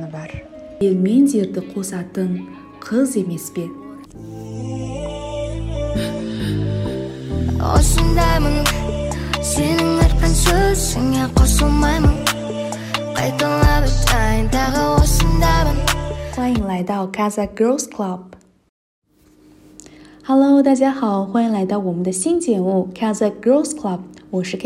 бар. Елмен жерді қосатын қыз емес пе? Осындаймын, сенің айтқан сөзіңе қосылмаймын. Қайталап айтайын, тағы осындаймын. 欢迎来到 Kazakh Girls Club。Hello， 大家好，欢迎来到我们的新节目 Kazakh Girls Club， 我是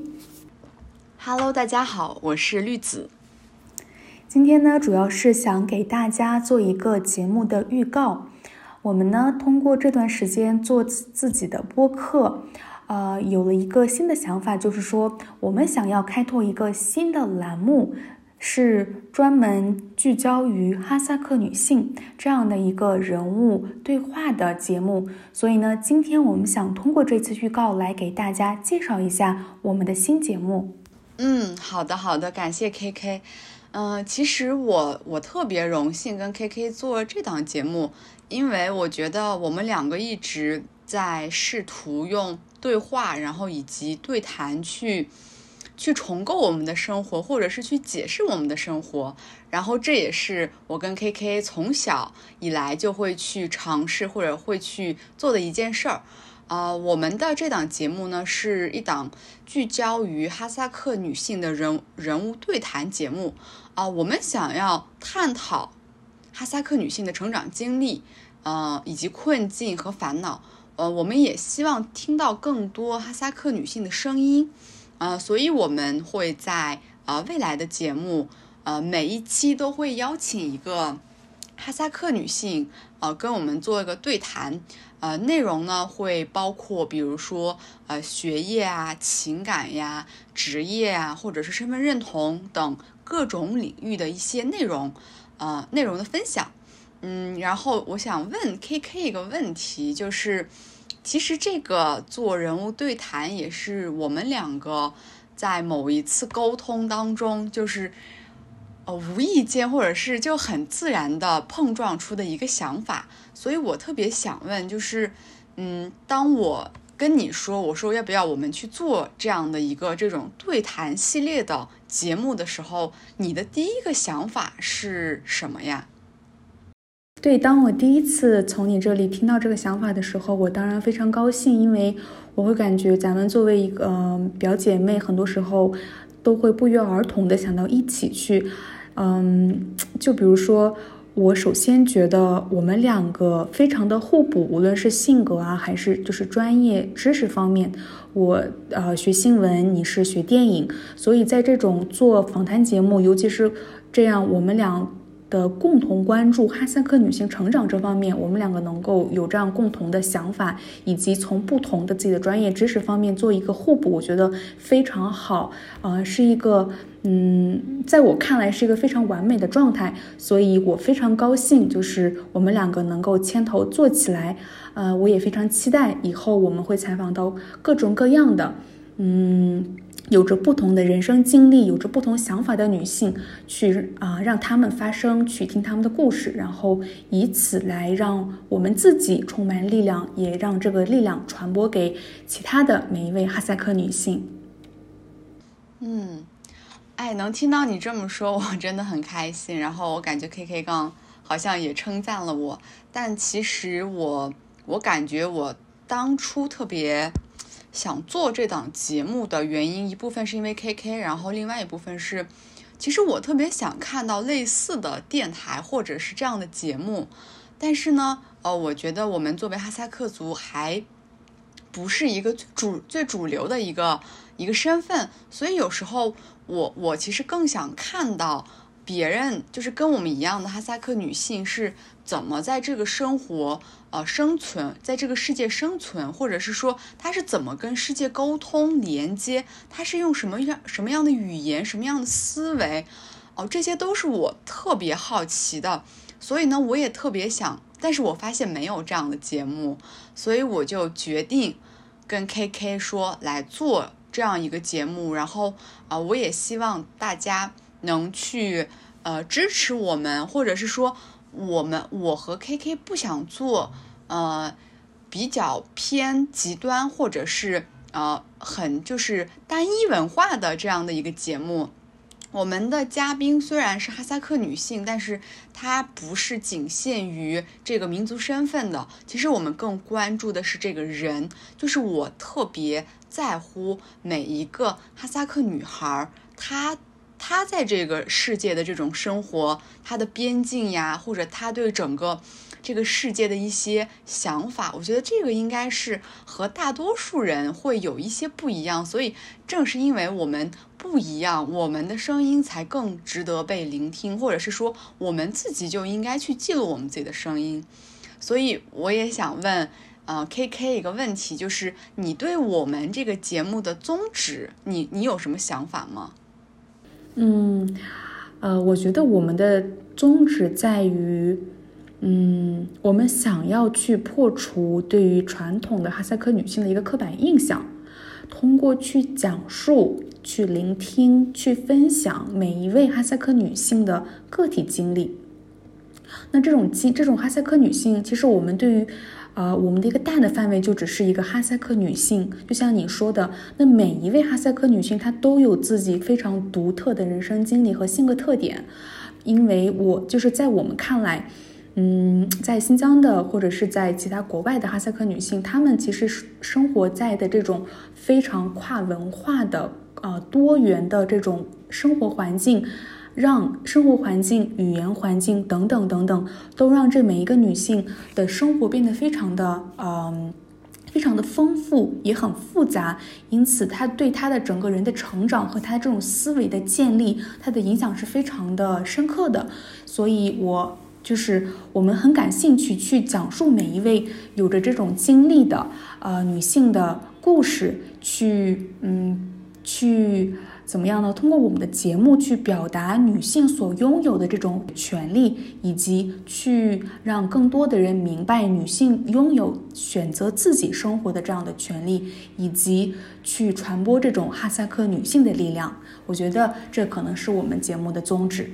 KK。Hello， 大家好，我是绿子。 今天呢，主要是想给大家做一个节目的预告。我们呢，通过这段时间做自己的播客，有了一个新的想法，就是说，我们想要开拓一个新的栏目，是专门聚焦于哈萨克女性这样的一个人物对话的节目。所以呢，今天我们想通过这次预告来给大家介绍一下我们的新节目。 好的，感谢 KK。其实我特别荣幸跟 KK 做这档节目，因为我觉得我们两个一直在试图用对话，然后以及对谈去重构我们的生活，或者是去解释我们的生活。然后这也是我跟 KK 从小以来就会去尝试或者会去做的一件事儿。我们的这档节目呢，是一档聚焦于哈萨克女性的人物对谈节目。我们想要探讨哈萨克女性的成长经历，以及困境和烦恼。我们也希望听到更多哈萨克女性的声音。所以我们会在未来的节目，每一期都会邀请一个哈萨克女性，跟我们做一个对谈。内容呢会包括比如说学业啊、情感呀、职业啊，或者是身份认同等各种领域的一些内容的分享。然后我想问 KK 一个问题，就是其实这个做人物对谈也是我们两个在某一次沟通当中，就是无意间或者是就很自然的碰撞出的一个想法。所以我特别想问，就是当我跟你说，我说要不要我们去做这样的一个这种对谈系列的节目的时候，你的第一个想法是什么呀？ 对，当我第一次从你这里听到这个想法的时候，我当然非常高兴，因为我会感觉咱们作为一个表姐妹，很多时候都会不约而同的想到一起去。就比如说，我首先觉得我们两个非常的互补，无论是性格啊，还是就是专业知识方面。我学新闻，你是学电影，所以在这种做访谈节目，尤其是这样我们俩的共同关注哈萨克女性成长这方面，我们两个能够有这样共同的想法，以及从不同的自己的专业知识方面做一个互补，我觉得非常好。是一个在我看来是一个非常完美的状态，所以我非常高兴，就是我们两个能够牵头做起来。我也非常期待以后我们会采访到各种各样的有着不同的人生经历，有着不同想法的女性，去让她们发声，去听她们的故事，然后以此来让我们自己充满力量，也让这个力量传播给其他的每一位哈萨克女性。 能听到你这么说，我真的很开心。然后我感觉 KK 刚好像也称赞了我，但其实我感觉我当初特别想做这档节目的原因，一部分是因为 KK， 然后另外一部分是，其实我特别想看到类似的电台或者是这样的节目，但是呢，我觉得我们作为哈萨克族还不是一个最主流的一个身份，所以有时候我其实更想看到别人就是跟我们一样的哈萨克女性是怎么在这个生活生存，在这个世界生存，或者是说她是怎么跟世界沟通连接，她是用什么样的语言，什么样的思维，这些都是我特别好奇的。所以呢，我也特别想，但是我发现没有这样的节目，所以我就决定跟 KK 说来做这样一个节目。然后我也希望大家能去支持我们，或者是说我和 KK 不想做比较偏极端或者是很就是单一文化的这样的一个节目。 我们的嘉宾虽然是哈萨克女性，但是她不是仅限于这个民族身份的。其实我们更关注的是这个人，就是我特别在乎每一个哈萨克女孩，她在这个世界的这种生活，她的边境呀，或者她对整个这个世界的一些想法，我觉得这个应该是和大多数人会有一些不一样，所以正是因为我们不一样，我们的声音才更值得被聆听，或者是说我们自己就应该去记录我们自己的声音。所以我也想问KK 一个问题，就是你对我们这个节目的宗旨，你有什么想法吗？ 我觉得我们的宗旨在于我们想要去破除对于传统的哈萨克女性的一个刻板印象，通过去讲述、去聆听、去分享每一位哈萨克女性的个体经历。那这种哈萨克女性，其实我们对于我们的一个大的范围就只是一个哈萨克女性，就像你说的，那每一位哈萨克女性她都有自己非常独特的人生经历和性格特点，因为就是在我们看来，在新疆的或者是在其他国外的哈萨克女性，她们其实生活在的这种非常跨文化的多元的这种生活环境，让生活环境、语言环境等等等等，都让这每一个女性的生活变得非常的丰富，也很复杂。因此，她对她的整个人的成长和她这种思维的建立，她的影响是非常的深刻的。所以我们很感兴趣去讲述每一位有着这种经历的女性的故事，去怎么样呢？通过我们的节目去表达女性所拥有的这种权利，以及去让更多的人明白女性拥有选择自己生活的这样的权利，以及去传播这种哈萨克女性的力量。我觉得这可能是我们节目的宗旨。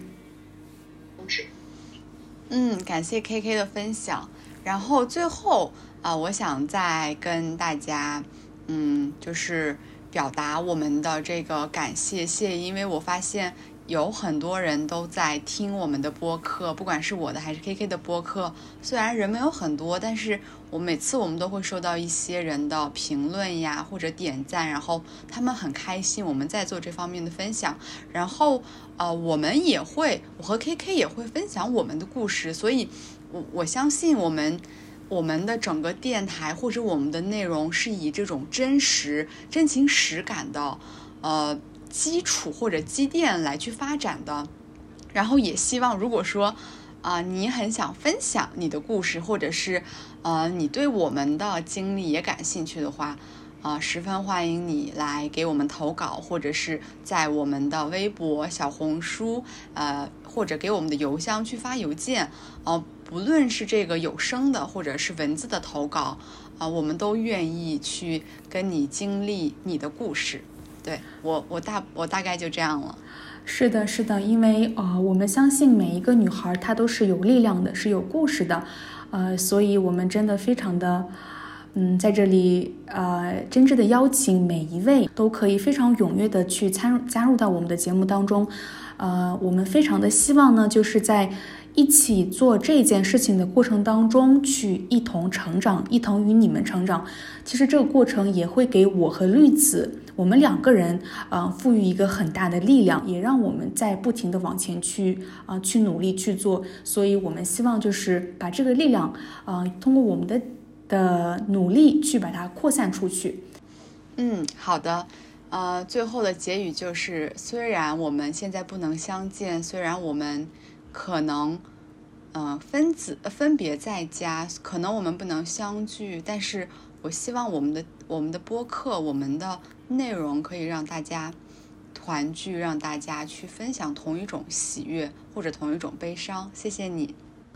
感谢 KK 的分享。然后最后我想再跟大家就是表达我们的这个感谢谢意，因为我发现有很多人都在听我们的播客，不管是我的还是 KK 的播客，虽然人没有很多，但是每次我们都会收到一些人的评论呀或者点赞，然后他们很开心我们在做这方面的分享，然后我和 KK 也会分享我们的故事，所以我相信我们的整个电台或者我们的内容是以这种真情实感的基础或者积淀来去发展的。然后也希望如果说你很想分享你的故事，或者是你对我们的经历也感兴趣的话，十分欢迎你来给我们投稿，或者是在我们的微博、小红书或者给我们的邮箱去发邮件，不论是这个有声的或者是文字的投稿，我们都愿意去跟你经历你的故事。对，我大概就这样了。 是的，是的，因为我们相信每一个女孩她都是有力量的，是有故事的，所以我们真的非常的在这里真挚的邀请每一位都可以非常踊跃的去加入到我们的节目当中。我们非常的希望呢，就是在一起做这件事情的过程当中去一同成长，一同与你们成长。其实这个过程也会给我和绿子我们两个人赋予一个很大的力量，也让我们在不停的往前去努力去做。所以我们希望就是把这个力量通过我们的努力去把它扩散出去。 好的。最后的结语就是，虽然我们现在不能相见，虽然我们可能分别在家，可能我们不能相聚，但是我希望我们的播客，我们的内容可以让大家团聚，让大家去分享同一种喜悦或者同一种悲伤。谢谢你。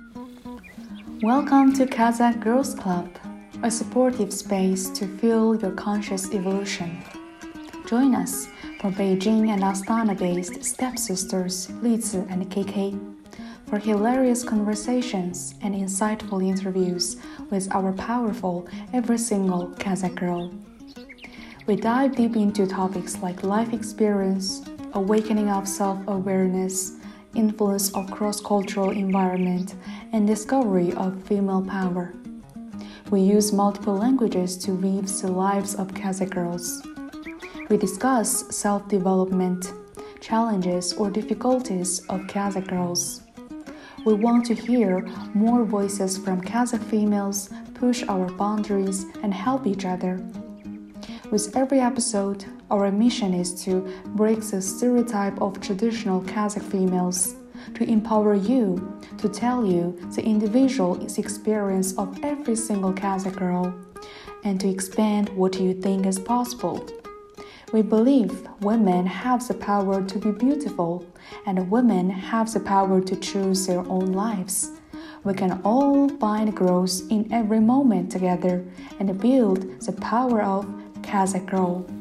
Welcome to Kazakh Girls Club, a supportive space to fuel your conscious evolution.Join us for Beijing and Astana-based stepsisters Lizi and KK for hilarious conversations and insightful interviews with our powerful every single Kazakh girl. We dive deep into topics like life experience, awakening of self-awareness, influence of cross-cultural environment, and discovery of female power. We use multiple languages to weave the lives of Kazakh girls. We discuss self-development, challenges or difficulties of Kazakh girls. We want to hear more voices from Kazakh females, push our boundaries, and help each other. With every episode, our mission is to break the stereotype of traditional Kazakh females, to empower you, to tell you the individual experience of every single Kazakh girl, and to expand what you think is possible. We believe women have the power to be beautiful, and women have the power to choose their own lives. We can all find growth in every moment together and build the power of Kazakh girl.